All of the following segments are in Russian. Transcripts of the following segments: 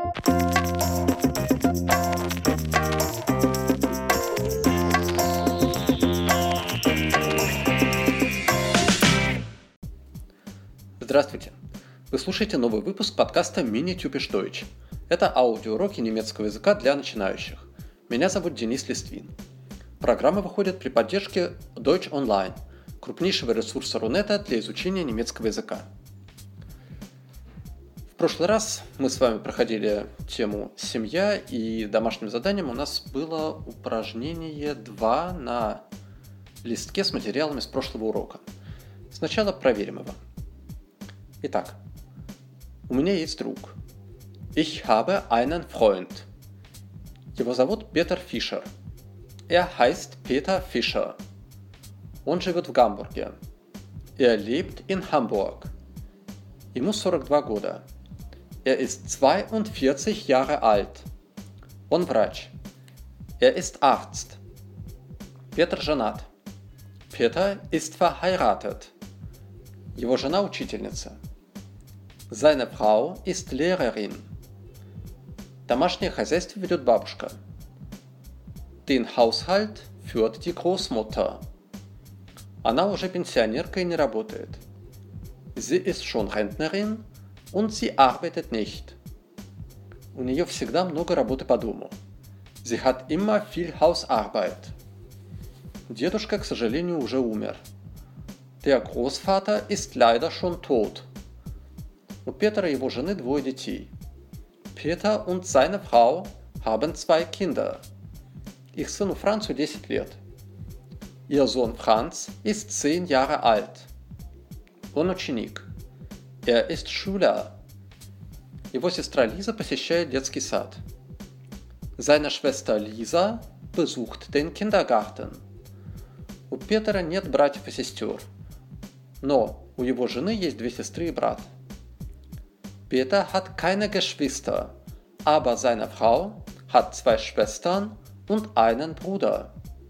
Здравствуйте! Вы слушаете новый выпуск подкаста Mini-Typisch Deutsch. Это аудиоуроки немецкого языка для начинающих. Меня зовут Денис Листвин. Программа выходит при поддержке Deutsch Online, крупнейшего ресурса Рунета для изучения немецкого языка. В прошлый раз мы с вами проходили тему «Семья», и домашним заданием у нас было упражнение 2 на листке с материалами с прошлого урока. Сначала проверим его. Итак, у меня есть друг. Ich habe einen Freund. Его зовут Петер Фишер. Er heißt Peter Fischer. Он живет в Гамбурге. Er lebt in Hamburg. Ему 42 года. Er ist 42 Jahre alt. Он врач. Er ist Arzt. Петр женат. Peter ist verheiratet. Его жена учительница. Seine Frau ist Lehrerin. Домашнее хозяйство ведет бабушка. Den Haushalt führt die Großmutter. Она уже пенсионерка и не работает. Sie ist schon Rentnerin und sie arbeitet nicht. У нее всегда много работы по дому. Sie hat immer viel Hausarbeit. Дедушка, к сожалению, уже умер. Der Großvater ist leider schon tot. У Петра и его жены 2 детей. Peter und seine Frau haben 2 Kinder. Их сыну Францу 10 лет. Ihr Sohn Franz ist 10 Jahre alt. Он ученик. Er ist Schüler. Его сестра Лиза посещает детский сад. Seine Schwester Lisa besucht den Kindergarten. У Петра нет братьев и сестер. Но у его жены есть 2 сестры и брат. Peter hat keine Geschwister, aber seine Frau hat 2 Schwestern und einen Bruder.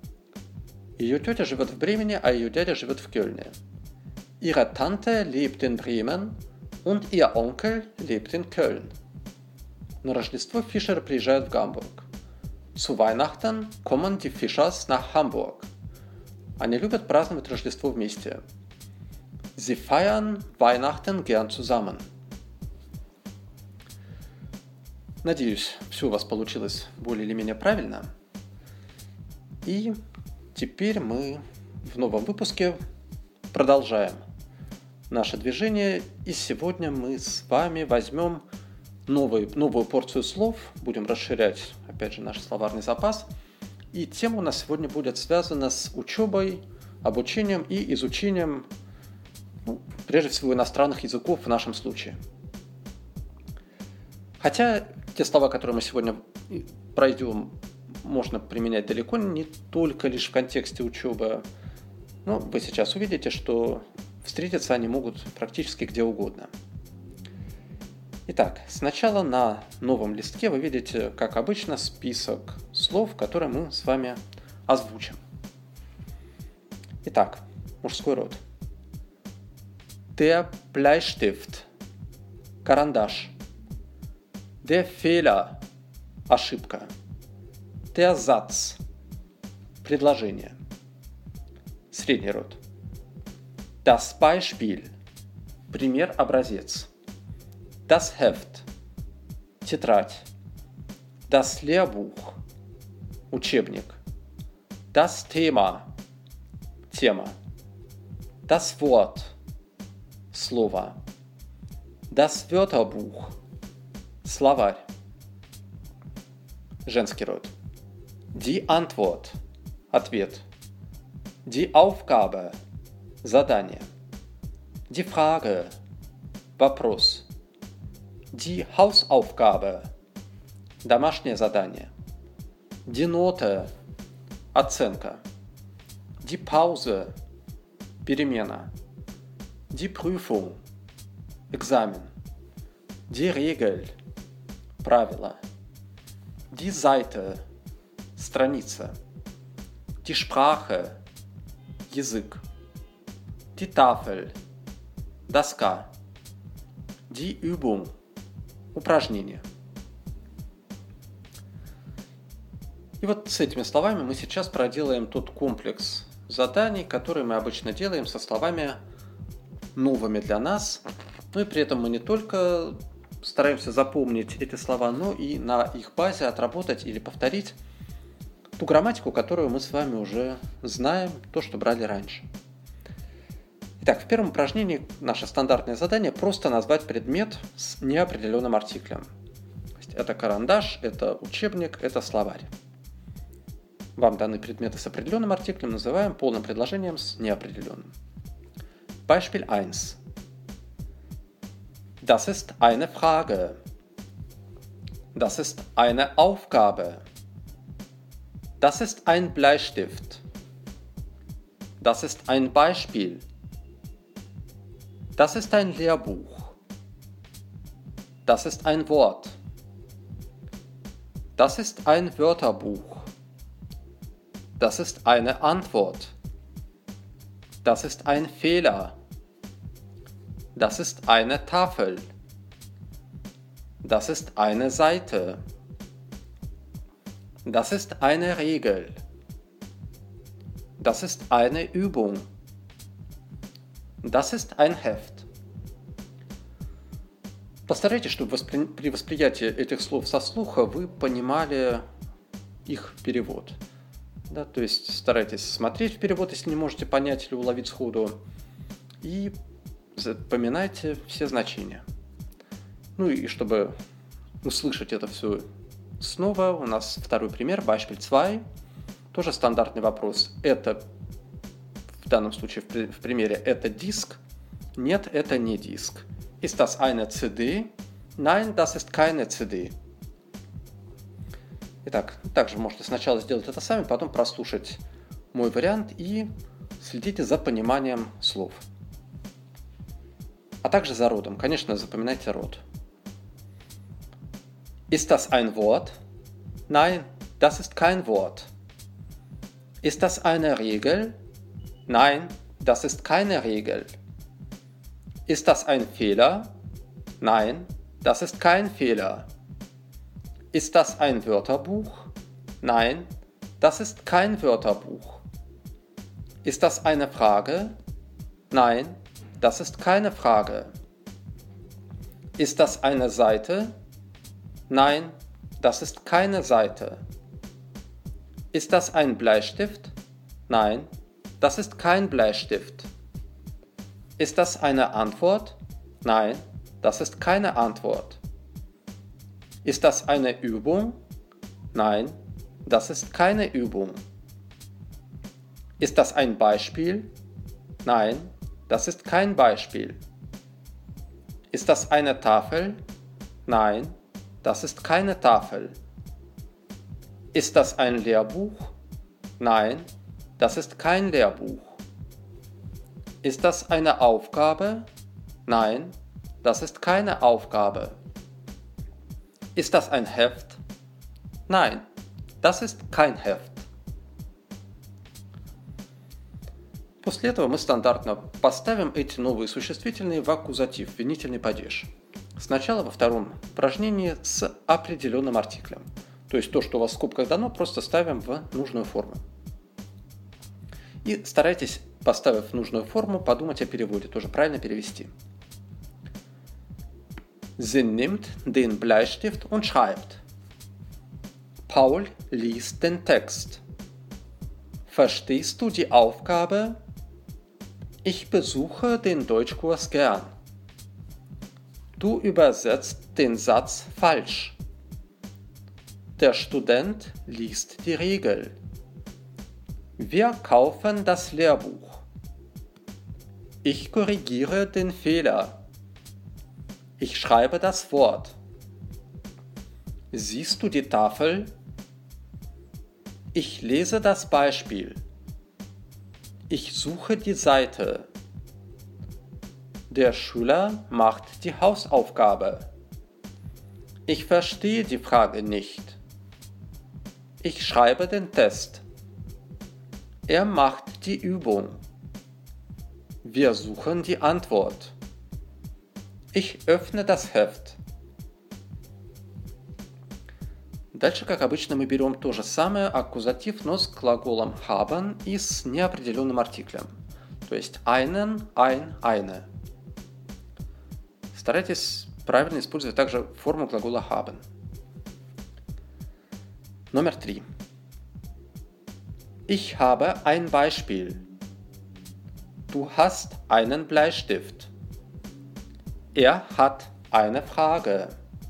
Ее тетя живет в Бремени, а ее дядя живет в Кёльне. Ihre Tante lebt in Bremen und ihr Onkel lebt in Köln. На Рождество Фишеры приезжают в Гамбург. Zu Weihnachten kommen die Fischers nach Hamburg. Они любят праздновать Рождество вместе. Sie feiern Weihnachten gern zusammen. Надеюсь, все у вас получилось более или менее правильно. И теперь мы в новом выпуске продолжаем наше движение. И сегодня мы с вами возьмем новую порцию слов. Будем расширять, опять же, наш словарный запас. И тема у нас сегодня будет связана с учебой, обучением и изучением, прежде всего, иностранных языков в нашем случае. Хотя те слова, которые мы сегодня пройдем, можно применять далеко не только лишь в контексте учебы. Но вы сейчас увидите, что встретиться они могут практически где угодно. Итак, сначала на новом листке вы видите, как обычно, список слов, которые мы с вами озвучим. Итак, мужской род. Der Bleistift. Карандаш. Der Fehler – ошибка. Der Satz – предложение. Средний род. Das Beispiel – пример, образец. Das Heft – тетрадь. Das Lehrbuch – учебник. Das Thema – тема. Das Wort – слово. Das Wörterbuch – словарь. Женский род. Die Antwort – ответ. Die Aufgabe – задание. Die Frage – вопрос. Die Hausaufgabe – домашнее задание. Die Note – оценка. Die Pause – перемена. Die Prüfung – экзамен. Die Regel – правило. Die Seite – страница. Die Sprache – язык. Die Tafel – доска. Die Übung – упражнение. И вот с этими словами мы сейчас проделаем тот комплекс заданий, которые мы обычно делаем со словами новыми для нас. Ну и при этом мы не только стараемся запомнить эти слова, но и на их базе отработать или повторить ту грамматику, которую мы с вами уже знаем, то, что брали раньше. Итак, в первом упражнении наше стандартное задание просто назвать предмет с неопределенным артиклем. То есть это карандаш, это учебник, это словарь. Вам даны предметы с определенным артиклем, называем полным предложением с неопределенным. Beispiel 1. Das ist eine Frage. Das ist eine Aufgabe. Das ist ein Bleistift. Das ist ein Beispiel. Das ist ein Lehrbuch. Das ist ein Wort. Das ist ein Wörterbuch. Das ist eine Antwort. Das ist ein Fehler. Das ist eine Tafel. Das ist eine Seite. Das ist eine Regel. Das ist eine Übung. Das ist ein Heft. Постарайтесь, чтобы при восприятии этих слов со слуха вы понимали их перевод. Да, то есть старайтесь смотреть в перевод, если не можете понять или уловить сходу, и запоминайте все значения. Ну и чтобы услышать это все снова, у нас второй пример, Beispiel 2. Тоже стандартный вопрос. Это, в данном случае в примере, это диск? Нет, это не диск. Ist das eine CD? Nein, das ist keine CD. Итак, также можете сначала сделать это сами, потом прослушать мой вариант и следите за пониманием слов. А также за родом. Конечно, запоминайте род. Ist das ein Wort? Nein, das ist kein Wort. Ist das eine Regel? Nein, das ist keine Regel. Ist das ein Fehler? Nein, das ist kein Fehler. Ist das ein Wörterbuch? Nein, das ist kein Wörterbuch. Ist das eine Frage? Nein, das ist keine Frage. Ist das eine Seite? Nein, das ist keine Seite. Ist das ein Bleistift? Nein, das ist kein Bleistift. Ist das eine Antwort? Nein, das ist keine Antwort. Ist das eine Übung? Nein, das ist keine Übung. Ist das ein Beispiel? Nein, das ist kein Beispiel. Ist das eine Tafel? Nein, das ist keine Tafel. Ist das ein Lehrbuch? Nein, das ist kein Lehrbuch. Ist das eine Aufgabe? Nein, das ist keine Aufgabe. Ist das ein Heft? Nein, das ist kein Heft. После этого мы стандартно поставим эти новые существительные в аккузатив, винительный падеж. Сначала во втором упражнении с определенным артиклем. То есть то, что у вас в скобках дано, просто ставим в нужную форму. И старайтесь, поставив нужную форму, подумать о переводе, тоже правильно перевести. Sie nimmt den Bleistift und schreibt. Paul liest den Text. Verstehst du die Aufgabe? Ich besuche den Deutschkurs gern. Du übersetzt den Satz falsch. Der Student liest die Regel. Wir kaufen das Lehrbuch. Ich korrigiere den Fehler. Ich schreibe das Wort. Siehst du die Tafel? Ich lese das Beispiel. Ich suche die Seite. Der Schüler macht die Hausaufgabe. Ich verstehe die Frage nicht. Ich schreibe den Test. Er macht die Übung. Wir suchen die Antwort. Ich öffne das Heft. Дальше, как обычно, мы берем то же самое, аккузатив, но с глаголом haben и с неопределенным артиклем. То есть einen, ein, eine. Старайтесь правильно использовать также форму глагола haben. Номер 3. Ich habe ein Beispiel. Du hast einen Bleistift. Er hat eine Frage.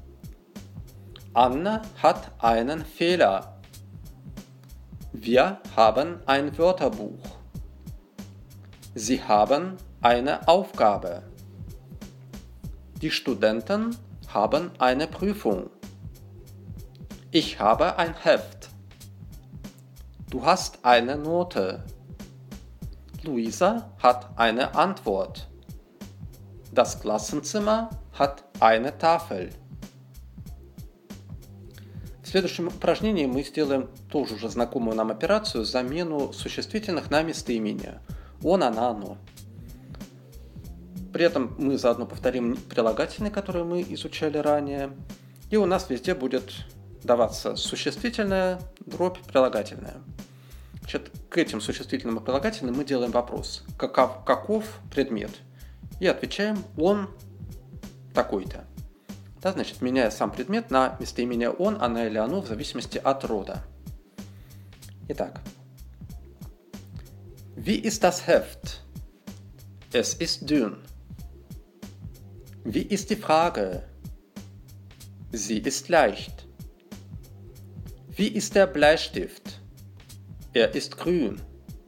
Anne hat einen Fehler. Wir haben ein Wörterbuch. Sie haben eine Aufgabe. Die Studenten haben eine Prüfung. Ich habe ein Heft. Du hast eine Note. Luisa hat eine Antwort. Das Klassenzimmer hat eine Tafel. В следующем упражнении мы сделаем тоже уже знакомую нам операцию, замену существительных на местоимения. Он, она, оно. При этом мы заодно повторим прилагательные, которые мы изучали ранее. И у нас везде будет даваться существительное, дробь, прилагательное. Значит, к этим существительным и прилагательным мы делаем вопрос. Каков предмет? И отвечаем он такой-то. Да, значит, меняя сам предмет на местоимение он, она или оно в зависимости от рода. Итак. Wie ist das Heft? Es ist dünn. Wie ist die Frage? Sie ist leicht. Wie ist der Bleistift? Er ist grün.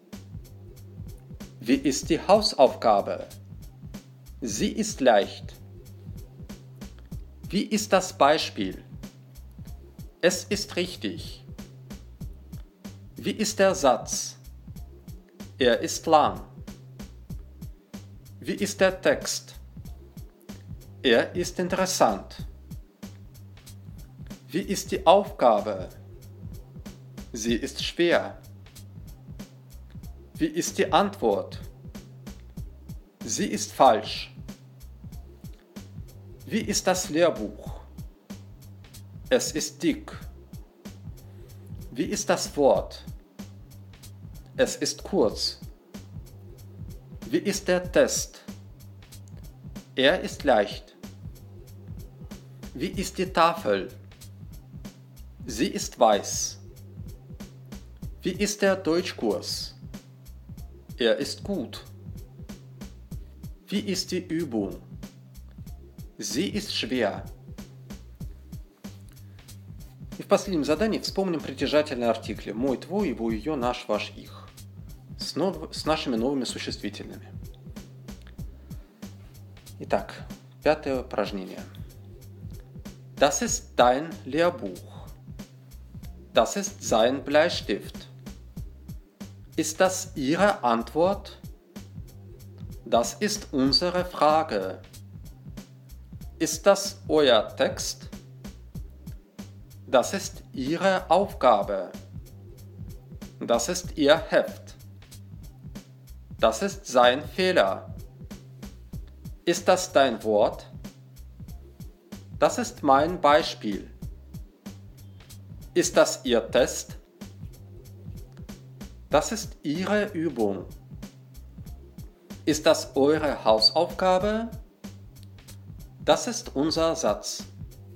Wie ist die Hausaufgabe? Sie ist leicht. Wie ist das Beispiel? Es ist richtig. Wie ist der Satz? Er ist lang. Wie ist der Text? Er ist interessant. Wie ist die Aufgabe? Sie ist schwer. Wie ist die Antwort? Sie ist falsch. Wie ist das Lehrbuch? Es ist dick. Wie ist das Wort? Es ist kurz. Wie ist der Test? Er ist leicht. Wie ist die Tafel? Sie ist weiß. Wie ist der Deutschkurs? Er ist gut. Wie ist die Übung? Sie ist schwer. И в последнем задании вспомним притяжательные артикли мой, твой, его, ее, наш, ваш, их с нашими новыми существительными. Итак, пятое упражнение. Das ist dein Lehrbuch. Das ist sein Bleistift. Ist das Ihre Antwort? Das ist unsere Frage. Ist das euer Text? Das ist Ihre Aufgabe. Das ist Ihr Heft. Das ist sein Fehler. Ist das dein Wort? Das ist mein Beispiel. Ist das Ihr Test? Das ist Ihre Übung. Ist das eure Hausaufgabe? Das ist unser Satz.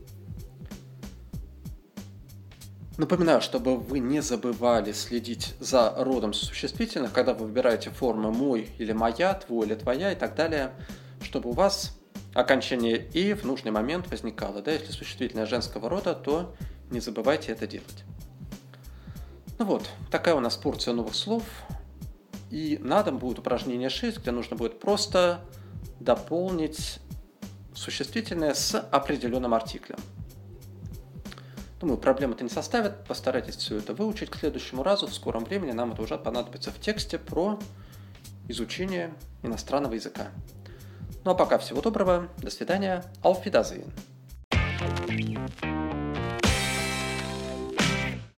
Напоминаю, чтобы вы не забывали следить за родом существительных, когда вы выбираете формы «мой» или «моя», «твой» или «твоя» и так далее, чтобы у вас окончание «и» в нужный момент возникало. Да, если существительное женского рода, то не забывайте это делать. Ну вот, такая у нас порция новых слов. И на дом будет упражнение 6, где нужно будет просто дополнить существительное с определенным артиклем. Думаю, проблем это не составит. Постарайтесь все это выучить к следующему разу. В скором времени нам это уже понадобится в тексте про изучение иностранного языка. Ну а пока всего доброго. До свидания. Auf Wiedersehen.